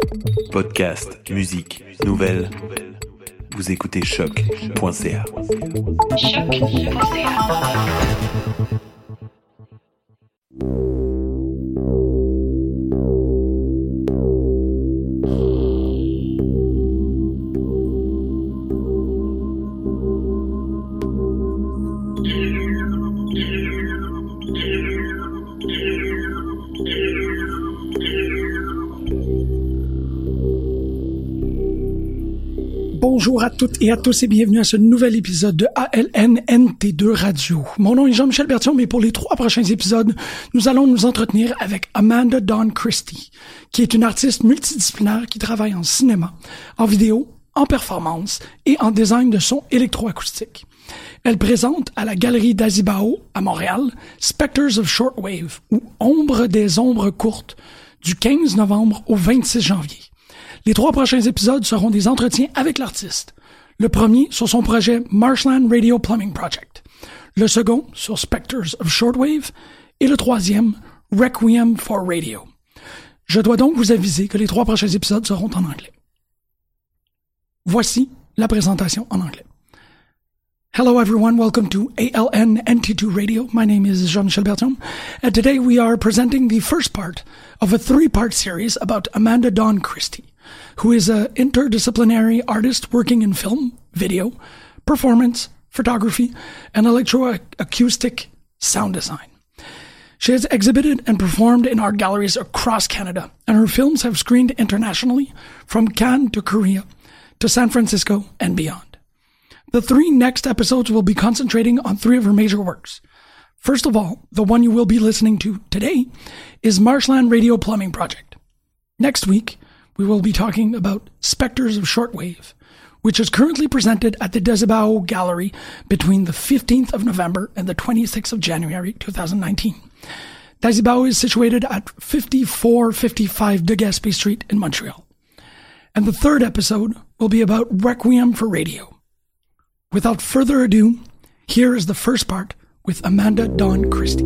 Podcast, musique, nouvelles. Vous écoutez choc.ca. Bonjour à toutes et à tous et bienvenue à ce nouvel épisode de ALNNT2 Radio. Mon nom est Jean-Michel Berthiaume, mais pour les 3 prochains épisodes, nous allons nous entretenir avec Amanda Dawn Christie, qui est une artiste multidisciplinaire qui travaille en cinéma, en vidéo, en performance et en design de son électroacoustique. Elle présente à la Galerie d'Azibao, à Montréal, Spectres of Shortwave, ou Ombre des ombres courtes, du 15 novembre au 26 janvier. Les 3 prochains épisodes seront des entretiens avec l'artiste. Le premier sur son projet Marshland Radio Plumbing Project. Le second sur Spectres of Shortwave. Et le troisième, Requiem for Radio. Je dois donc vous aviser que les 3 prochains épisodes seront en anglais. Voici la présentation en anglais. Hello everyone, welcome to ALNNT2 Radio. My name is Jean-Michel Berthiaume, and today we are presenting the first part of a 3-part series about Amanda Dawn Christie, who is an interdisciplinary artist working in film, video, performance, photography, and electroacoustic sound design. She has exhibited and performed in art galleries across Canada, and her films have screened internationally, from Cannes to Korea to San Francisco and beyond. The 3 next episodes will be concentrating on 3 of her major works. First of all, the one you will be listening to today is Marshland Radio Plumbing Project. Next week, we will be talking about Spectres of Shortwave, which is currently presented at the Desibao Gallery between the 15th of November and the 26th of January 2019. Desibao is situated at 5455 de Gaspé Street in Montreal. And the 3rd episode will be about Requiem for Radio. Without further ado, here is the first part with Amanda Dawn Christie.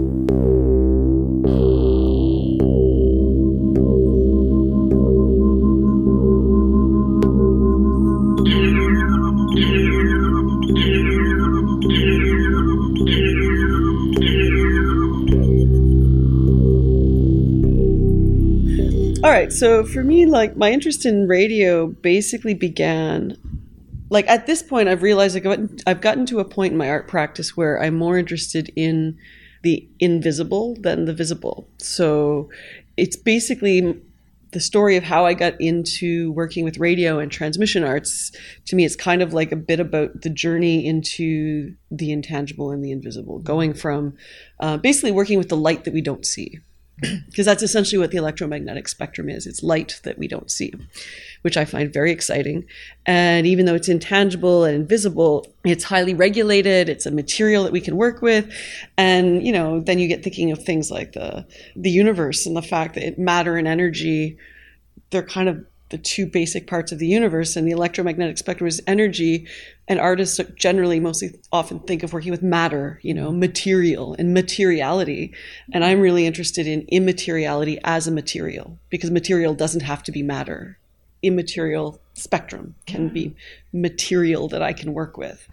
All right, so for me, like, my interest in radio basically began, like, at this point, I've realized I've gotten to a point in my art practice where I'm more interested in the invisible than the visible. So it's basically the story of how I got into working with radio and transmission arts. To me, it's kind of like a bit about the journey into the intangible and the invisible, going from basically working with the light that we don't see. Because that's essentially what the electromagnetic spectrum is. It's light that we don't see, which I find very exciting. And even though it's intangible and invisible, it's highly regulated. It's a material that we can work with. And, you know, then you get thinking of things like the universe and the fact that matter and energy, they're kind of the 2 basic parts of the universe, and the electromagnetic spectrum is energy, and artists generally mostly often think of working with matter, you know, material and materiality. And I'm really interested in immateriality as a material, because material doesn't have to be matter. Immaterial spectrum can be material that I can work with.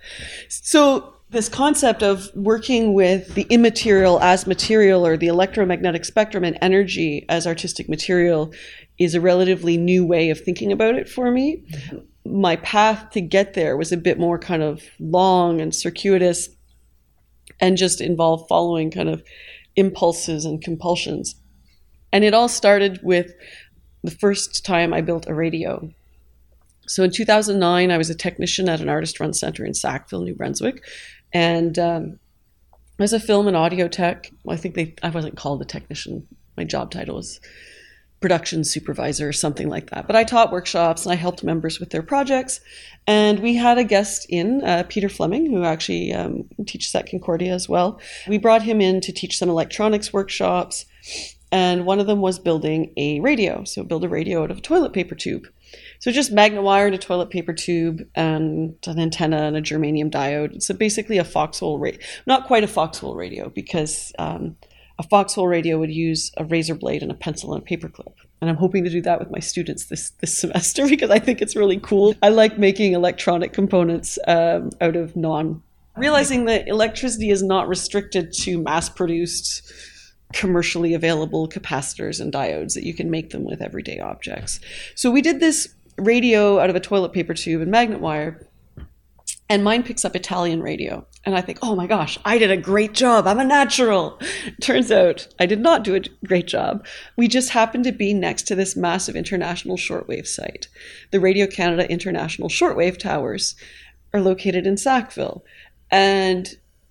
So this concept of working with the immaterial as material, or the electromagnetic spectrum and energy as artistic material, is a relatively new way of thinking about it for me. My path to get there was a bit more kind of long and circuitous, and just involved following kind of impulses and compulsions. And it all started with the first time I built a radio. So in 2009, I was a technician at an artist-run center in Sackville, New Brunswick. And I was a film and audio tech. Well, I wasn't called a technician. My job title was production supervisor or something like that. But I taught workshops and I helped members with their projects. And we had a guest in, Peter Fleming, who actually teaches at Concordia as well. We brought him in to teach some electronics workshops. And one of them was building a radio. So build a radio out of a toilet paper tube. So just magnet wire and a toilet paper tube and an antenna and a germanium diode. So basically a foxhole radio. Not quite a foxhole radio, because a foxhole radio would use a razor blade and a pencil and a paper clip. And I'm hoping to do that with my students this semester because I think it's really cool. I like making electronic components out of realizing that electricity is not restricted to mass-produced, commercially available capacitors and diodes, that you can make them with everyday objects. So we did this radio out of a toilet paper tube and magnet wire, and mine picks up Italian radio. And I think, oh my gosh, I did a great job. I'm a natural. Turns out I did not do a great job. We just happened to be next to this massive international shortwave site. The Radio Canada International Shortwave Towers are located in Sackville. And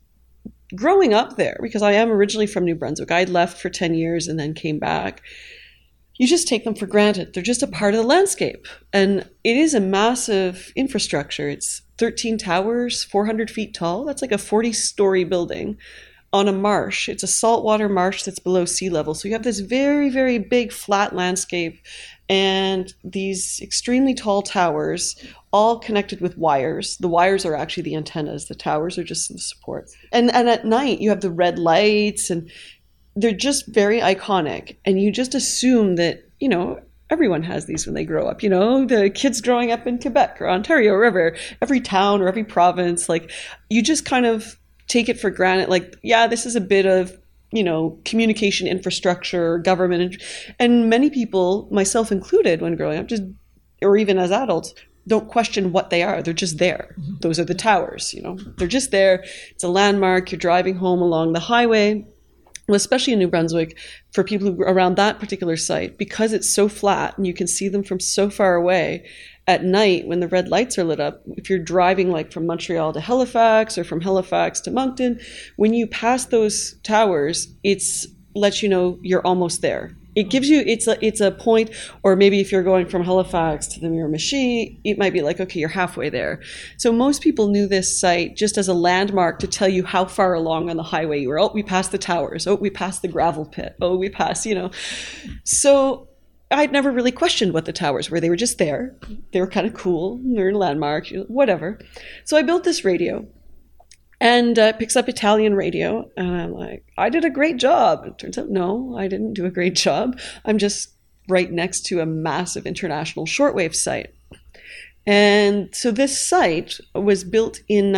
growing up there, because I am originally from New Brunswick, I'd left for 10 years and then came back. You just take them for granted. They're just a part of the landscape. And it is a massive infrastructure. It's 13 towers, 400 feet tall. That's like a 40-story building on a marsh. It's a saltwater marsh that's below sea level. So you have this very, very big flat landscape and these extremely tall towers, all connected with wires. The wires are actually the antennas. The towers are just the support. And at night, you have the red lights, and they're just very iconic. And you just assume that, everyone has these when they grow up. The kids growing up in Quebec or Ontario or wherever, every town or every province, like, you just kind of take it for granted. Like, yeah, this is a bit of, communication infrastructure, government. And many people, myself included, when growing up, or even as adults, don't question what they are. They're just there. Mm-hmm. Those are the towers, They're just there. It's a landmark. You're driving home along the highway. Well, especially in New Brunswick, for people who around that particular site, because it's so flat and you can see them from so far away, at night when the red lights are lit up, if you're driving like from Montreal to Halifax or from Halifax to Moncton, when you pass those towers, it's lets you know you're almost there. It gives you, it's a point, or maybe if you're going from Halifax to the Miramichi, it might be like, okay, you're halfway there. So most people knew this site just as a landmark to tell you how far along on the highway you were. Oh, we passed the towers. Oh, we passed the gravel pit. Oh, we passed, So I'd never really questioned what the towers were. They were just there. They were kind of cool. They're a landmark, whatever. So I built this radio. And it picks up Italian radio. And I'm like, I did a great job. It turns out, no, I didn't do a great job. I'm just right next to a massive international shortwave site. And so this site was built in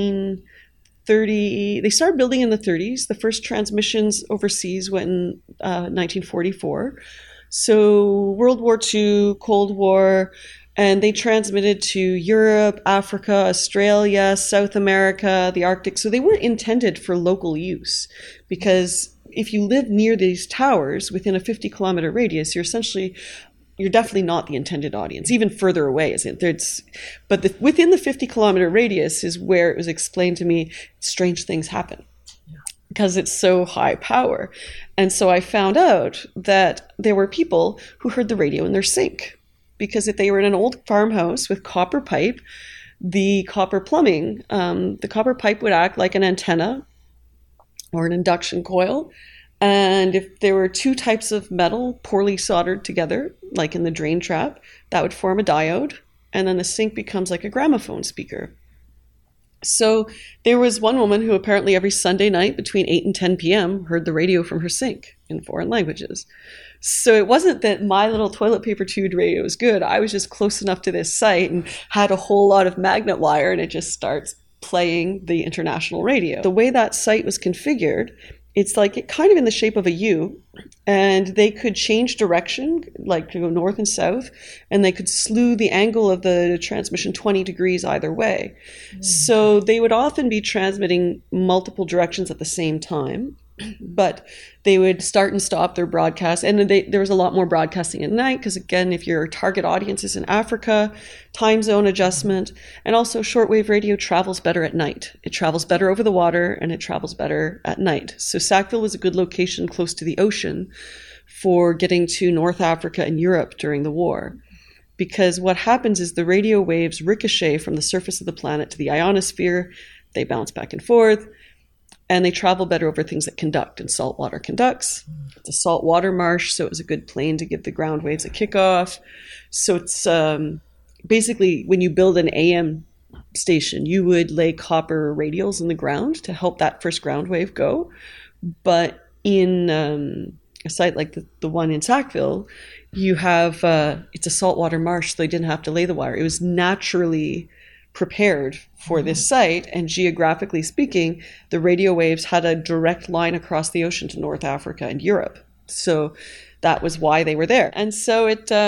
1930. They started building in the 30s. The first transmissions overseas went in 1944. So World War II, Cold War, and they transmitted to Europe, Africa, Australia, South America, the Arctic. So they weren't intended for local use, because if you live near these towers within a 50-kilometer radius, you're definitely not the intended audience. Even further away, but within the 50-kilometer radius is where it was explained to me strange things happen. Because it's so high power. And so I found out that there were people who heard the radio in their sink. Because if they were in an old farmhouse with copper pipe, the copper plumbing, the copper pipe would act like an antenna or an induction coil. And if there were two types of metal poorly soldered together, like in the drain trap, that would form a diode. And then the sink becomes like a gramophone speaker. So there was one woman who apparently every Sunday night between 8 and 10 p.m. heard the radio from her sink in foreign languages. So it wasn't that my little toilet paper tube radio was good. I was just close enough to this site and had a whole lot of magnet wire, and it just starts playing the international radio. The way that site was configured, it's like kind of in the shape of a U, and they could change direction, like to go north and south, and they could slew the angle of the transmission 20 degrees either way. Mm-hmm. So they would often be transmitting multiple directions at the same time, but they would start and stop their broadcast. And there was a lot more broadcasting at night because, again, if your target audience is in Africa, time zone adjustment, and also shortwave radio travels better at night. It travels better over the water, and it travels better at night. So Sackville was a good location close to the ocean for getting to North Africa and Europe during the war. Because what happens is the radio waves ricochet from the surface of the planet to the ionosphere. They bounce back and forth. And they travel better over things that conduct, and salt water conducts. It's a saltwater marsh, so it was a good plane to give the ground waves a kickoff. So it's basically when you build an AM station, you would lay copper radials in the ground to help that first ground wave go. But in a site like the one in Sackville, you have, it's a saltwater marsh, so they didn't have to lay the wire. It was naturally prepared for this site, and geographically speaking, the radio waves had a direct line across the ocean to North Africa and Europe. So that was why they were there. And so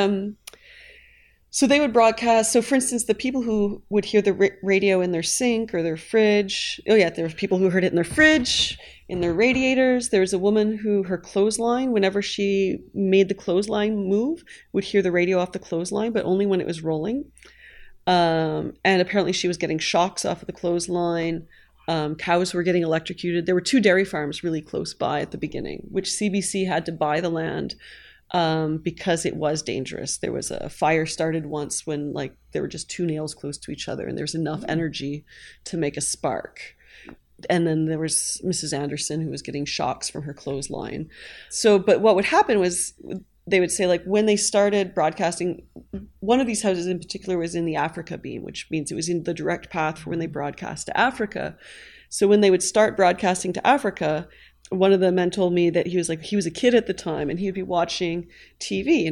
so they would broadcast. So for instance, the people who would hear the radio in their sink or their fridge, there were people who heard it in their fridge, in their radiators. There was a woman who, her clothesline, whenever she made the clothesline move, would hear the radio off the clothesline, but only when it was rolling. And apparently she was getting shocks off of the clothesline. Cows were getting electrocuted. There were 2 dairy farms really close by at the beginning, which CBC had to buy the land because it was dangerous. There was a fire started once when there were just 2 nails close to each other and there was enough energy to make a spark. And then there was Mrs. Anderson who was getting shocks from her clothesline. So, but what would happen was they would say, when they started broadcasting, one of these houses in particular was in the Africa beam, which means it was in the direct path for when they broadcast to Africa. So when they would start broadcasting to Africa, one of the men told me that he was a kid at the time and he would be watching TV,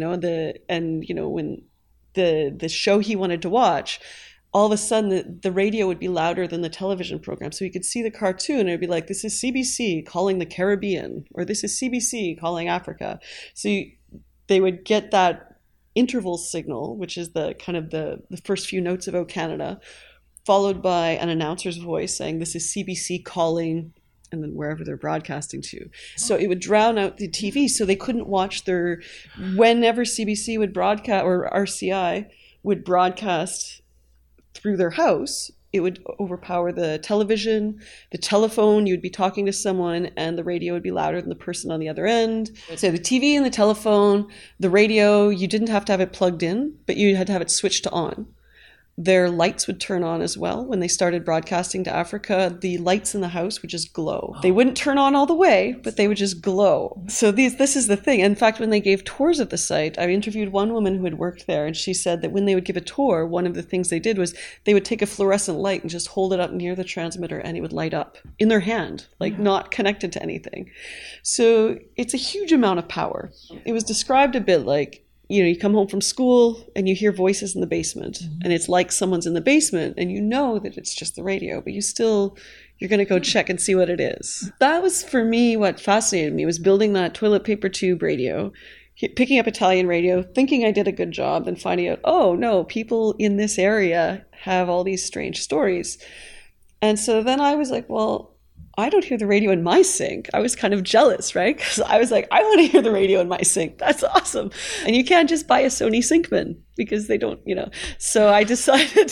when the show he wanted to watch, all of a sudden the radio would be louder than the television program. So you could see the cartoon and it'd be like, this is CBC calling the Caribbean, or this is CBC calling Africa. So they would get that interval signal, which is the kind of the first few notes of O Canada, followed by an announcer's voice saying, this is CBC calling, and then wherever they're broadcasting to. So it would drown out the TV, so they couldn't watch whenever CBC would broadcast, or RCI would broadcast through their house, it would overpower the television, the telephone. You would be talking to someone and the radio would be louder than the person on the other end. So the TV and the telephone, the radio, you didn't have to have it plugged in, but you had to have it switched to on. Their lights would turn on as well. When they started broadcasting to Africa, the lights in the house would just glow. They wouldn't turn on all the way, but they would just glow. So this is the thing. In fact, when they gave tours of the site, I interviewed one woman who had worked there, and she said that when they would give a tour, one of the things they did was they would take a fluorescent light and just hold it up near the transmitter, and it would light up in their hand, not connected to anything. So it's a huge amount of power. It was described a bit like, you come home from school and you hear voices in the basement, and it's like someone's in the basement and you know that it's just the radio, but you're going to go check and see what it is. That was, for me, what fascinated me, was building that toilet paper tube radio, picking up Italian radio, thinking I did a good job, and finding out, oh no, people in this area have all these strange stories. And so then I was like, well, I don't hear the radio in my sink. I was kind of jealous, right? Because I was like, I want to hear the radio in my sink. That's awesome. And you can't just buy a Sony Syncman because they don't, So I decided,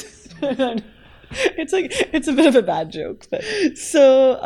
it's a bit of a bad joke. But so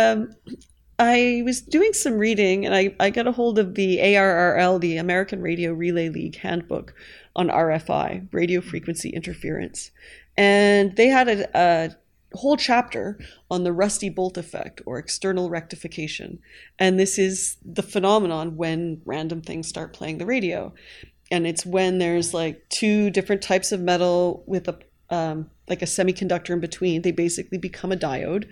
I was doing some reading, and I got a hold of the ARRL, the American Radio Relay League handbook on RFI, radio frequency interference. And they had a whole chapter on the rusty bolt effect, or external rectification. And this is the phenomenon when random things start playing the radio. And it's when there's 2 different types of metal with a semiconductor in between. They basically become a diode.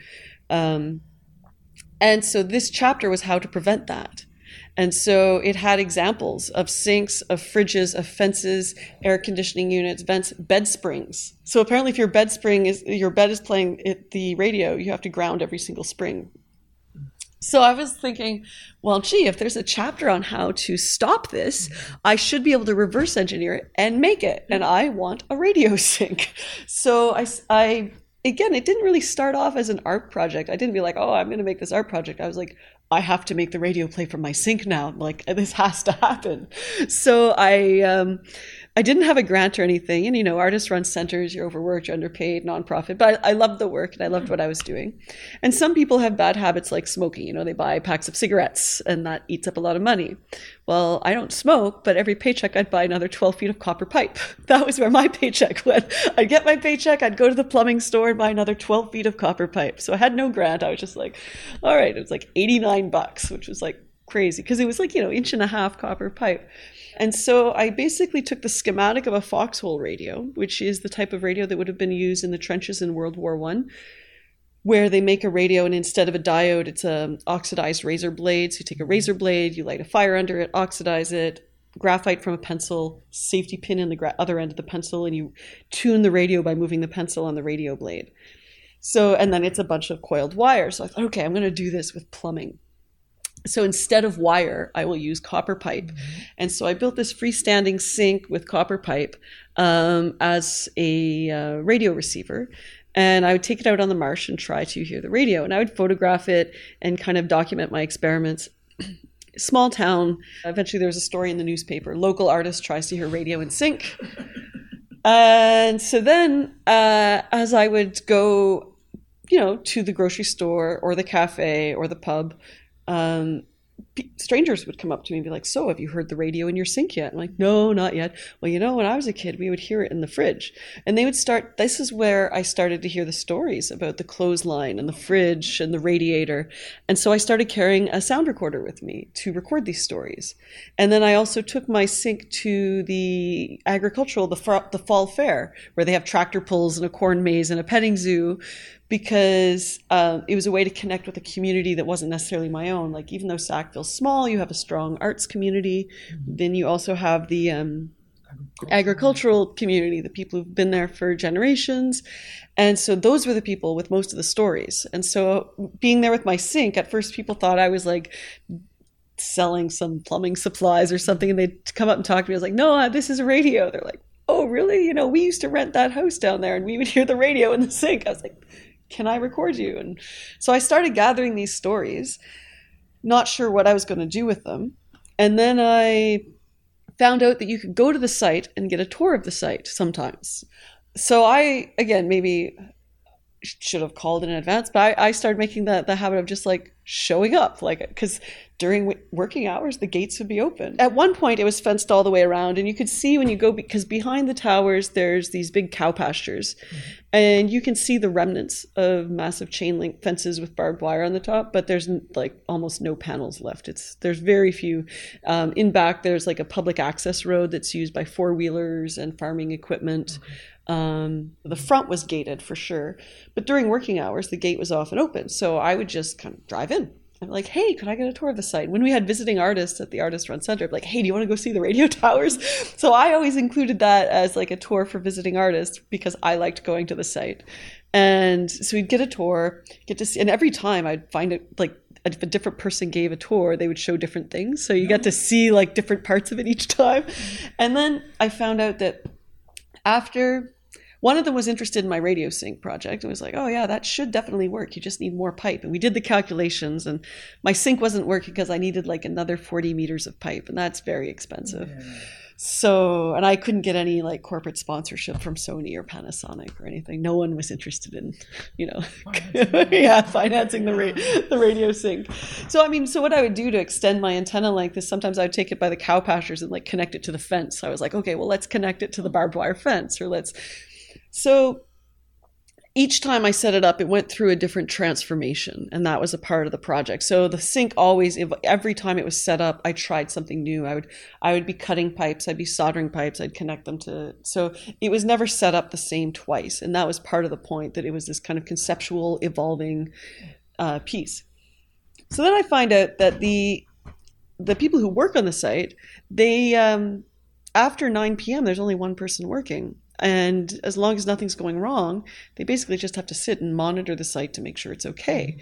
And so this chapter was how to prevent that. And so it had examples of sinks, of fridges, of fences, air conditioning units, vents, bed springs. So apparently if your bed is playing the radio, you have to ground every single spring. So I was thinking, well, gee, if there's a chapter on how to stop this, I should be able to reverse engineer it and make it. And I want a radio sink. So I again, it didn't really start off as an art project. I didn't be like, oh, I'm going to make this art project. I was like, I have to make the radio play from my sink now. This has to happen. So I didn't have a grant or anything. And, artists run centers, you're overworked, you're underpaid, nonprofit. But I loved the work and I loved what I was doing. And some people have bad habits like smoking. They buy packs of cigarettes and that eats up a lot of money. Well, I don't smoke, but every paycheck I'd buy another 12 feet of copper pipe. That was where my paycheck went. I'd get my paycheck, I'd go to the plumbing store and buy another 12 feet of copper pipe. So I had no grant. I was just like, all right, it was $89, which was crazy because it was 1.5-inch copper pipe. And so I basically took the schematic of a foxhole radio, which is the type of radio that would have been used in the trenches in World War I, where they make a radio, and instead of a diode, it's a oxidized razor blade. So you take a razor blade, you light a fire under it, oxidize it, graphite from a pencil, safety pin in the other end of the pencil, and you tune the radio by moving the pencil on the radio blade. So, and then it's a bunch of coiled wire. So I thought, okay, I'm going to do this with plumbing. So instead of wire, I will use copper pipe. And so I built this freestanding sink with copper pipe as a radio receiver. And I would take it out on the marsh and try to hear the radio. And I would photograph it and kind of document my experiments. Small town. Eventually there was a story in the newspaper. Local artist tries to hear radio in sink. And so then as I would go, to the grocery store or the cafe or the pub, strangers would come up to me and be like, so have you heard the radio in your sink yet? I'm like, no, not yet. Well, when I was a kid, we would hear it in the fridge. And they would start, this is where I started to hear the stories about the clothesline and the fridge and the radiator. And so I started carrying a sound recorder with me to record these stories. And then I also took my sink to the the fall fair, where they have tractor pulls and a corn maze and a petting zoo, because it was a way to connect with a community that wasn't necessarily my own. Like, even though Sackville's small, you have a strong arts community. Then you also have the agricultural community, the people who've been there for generations. And so those were the people with most of the stories. And so being there with my sink, at first people thought I was like selling some plumbing supplies or something, and they'd come up and talk to me. I was like, no, this is a radio. They're like, oh, really? We used to rent that house down there and we would hear the radio in the sink. I was like, can I record you? And so I started gathering these stories, not sure what I was going to do with them. And then I found out that you could go to the site and get a tour of the site sometimes. So I, again, maybe should have called in advance, but I started making the habit of just like showing up, because during working hours, the gates would be open. At one point, it was fenced all the way around, and you could see when you go, because behind the towers, there's these big cow pastures, and you can see the remnants of massive chain link fences with barbed wire on the top, but there's like almost no panels left. There's very few. In back, there's like a public access road that's used by four-wheelers and farming equipment. The front was gated for sure, but during working hours, the gate was often open. So I would just kind of drive in. I'm like, hey, could I get a tour of the site? When we had visiting artists at the Artist Run Center, I'd be like, hey, do you want to go see the radio towers? So I always included that as like a tour for visiting artists because I liked going to the site. And so we'd get a tour, get to see, and every time I'd find it like, if a different person gave a tour, they would show different things. So you got to see like different parts of it each time. And then I found out that after one of them was interested in my radio sync project and was like, oh yeah, that should definitely work. You just need more pipe. And we did the calculations, and my sync wasn't working because I needed like another 40 meters of pipe, and that's very expensive. Yeah. So, and I couldn't get any like corporate sponsorship from Sony or Panasonic or anything. No one was interested in, financing the radio sync. So what I would do to extend my antenna length is sometimes I would take it by the cow pastures and like connect it to the fence. So I was like, okay, well, let's connect it to the barbed wire fence, So each time I set it up, it went through a different transformation, and that was a part of the project. So the sync always, every time it was set up, I tried something new. I would be cutting pipes, I'd be soldering pipes, I'd connect them so it was never set up the same twice. And that was part of the point, that it was this kind of conceptual, evolving piece. So then I find out that the people who work on the site, they, after 9 p.m., there's only one person working. And as long as nothing's going wrong, they basically just have to sit and monitor the site to make sure it's okay.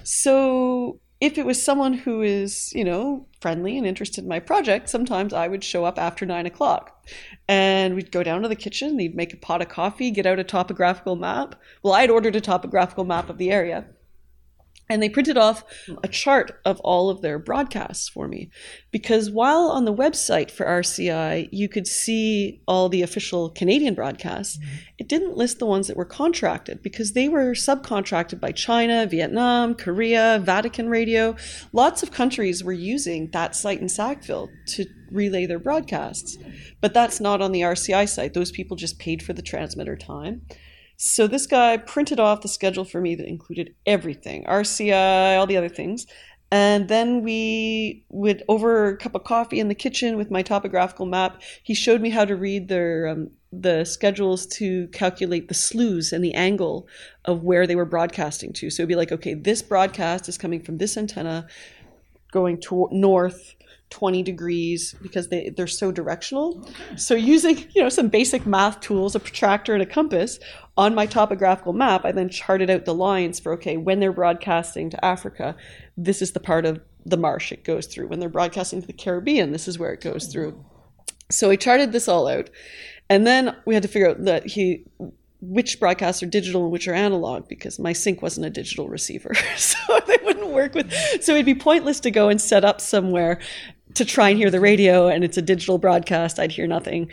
So if it was someone who is, friendly and interested in my project, sometimes I would show up after 9 o'clock. And we'd go down to the kitchen, they'd make a pot of coffee, get out a topographical map. Well, I'd ordered a topographical map of the area. And they printed off a chart of all of their broadcasts for me. Because while on the website for RCI, you could see all the official Canadian broadcasts, it didn't list the ones that were contracted because they were subcontracted by China, Vietnam, Korea, Vatican Radio. Lots of countries were using that site in Sackville to relay their broadcasts. But that's not on the RCI site. Those people just paid for the transmitter time. So this guy printed off the schedule for me that included everything, RCI, all the other things. And then we would, over a cup of coffee in the kitchen with my topographical map, he showed me how to read the schedules to calculate the slews and the angle of where they were broadcasting to. So it'd be like, okay, this broadcast is coming from this antenna going to north 20 degrees, because they're so directional. Okay. So using, some basic math tools, a protractor and a compass on my topographical map, I then charted out the lines for, okay, when they're broadcasting to Africa, this is the part of the marsh it goes through. When they're broadcasting to the Caribbean, this is where it goes through. So I charted this all out. And then we had to figure out which broadcasts are digital and which are analog, because my sync wasn't a digital receiver. So they wouldn't work with, so it'd be pointless to go and set up somewhere to try and hear the radio and it's a digital broadcast. I'd hear nothing.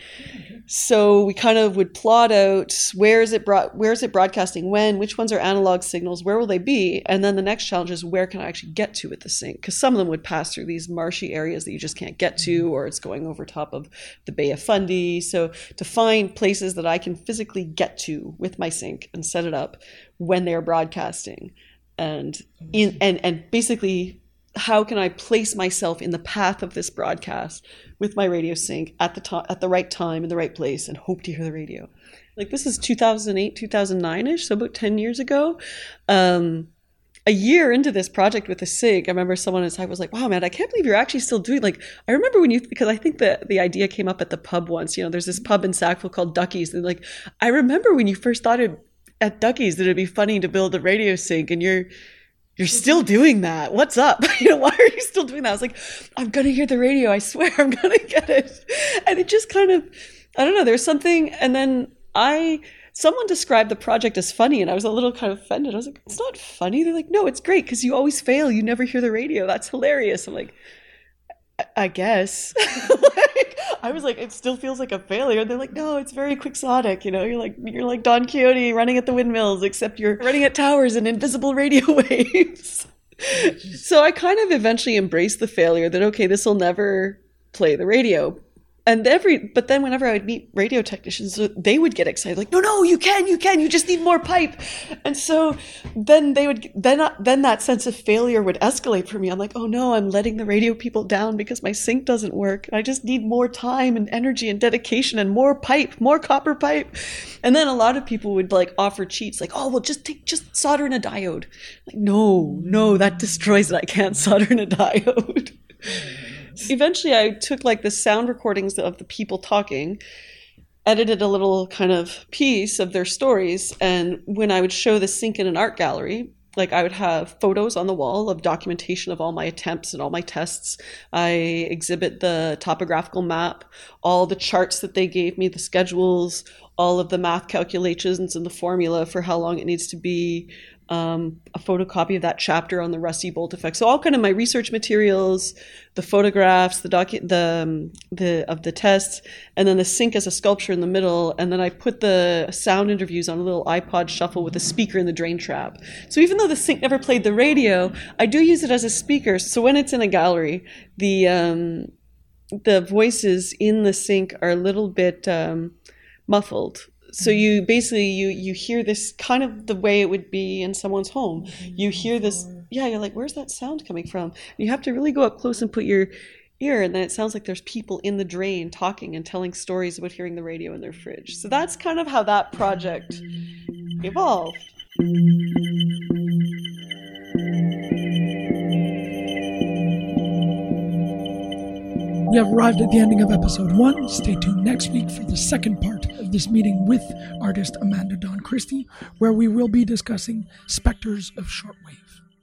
So we kind of would plot out where is it broadcasting when, which ones are analog signals, where will they be? And then the next challenge is, where can I actually get to with the sync? Because some of them would pass through these marshy areas that you just can't get to, or it's going over top of the Bay of Fundy. So to find places that I can physically get to with my sync and set it up when they're broadcasting, and basically, how can I place myself in the path of this broadcast with my radio sync at the right time in the right place, and hope to hear the radio? Like, this is 2008, 2009-ish, so about 10 years ago. A year into this project with the sync, I remember someone on site was like, wow, man, I can't believe you're actually still doing, like, I remember because I think the idea came up at the pub once. There's this pub in Sackville called Ducky's, and like, I remember when you first thought at Ducky's that it'd be funny to build a radio sync, and you're still doing that. What's up? Why are you still doing that? I was like, I'm going to hear the radio. I swear I'm going to get it. And it just kind of, I don't know, there's something. And then someone described the project as funny, and I was a little kind of offended. I was like, it's not funny. They're like, no, it's great because you always fail. You never hear the radio. That's hilarious. I'm like, I guess. I was like, it still feels like a failure. They're like, no, it's very quixotic. You're like Don Quixote running at the windmills, except you're running at towers and invisible radio waves. So I kind of eventually embraced the failure that, okay, this will never play the radio. But then whenever I would meet radio technicians, they would get excited, like, no, you can, you just need more pipe. And so then then that sense of failure would escalate for me. I'm like, oh no, I'm letting the radio people down because my sync doesn't work. I just need more time and energy and dedication and more pipe, more copper pipe. And then a lot of people would like offer cheats, like, oh, well, just solder in a diode. Like, no, that destroys it. I can't solder in a diode. Eventually, I took like the sound recordings of the people talking, edited a little kind of piece of their stories, and when I would show the sync in an art gallery, like I would have photos on the wall of documentation of all my attempts and all my tests. I exhibit the topographical map, all the charts that they gave me, the schedules, all of the math calculations and the formula for how long it needs to be, a photocopy of that chapter on the Rusty Bolt effect. So all kind of my research materials, the photographs, of the tests, and then the sync as a sculpture in the middle. And then I put the sound interviews on a little iPod shuffle with a speaker in the drain trap. So even though the sync never played the radio, I do use it as a speaker. So when it's in a gallery, the voices in the sync are a little bit muffled. So you basically, you hear this kind of the way it would be in someone's home. You hear this, you're like, where's that sound coming from? And you have to really go up close and put your ear, and then it sounds like there's people in the drain talking and telling stories about hearing the radio in their fridge. So that's kind of how that project evolved. We have arrived at the ending of episode 1. Stay tuned next week for the second part of this meeting with artist Amanda Dawn Christie, where we will be discussing Spectres of Shortwave.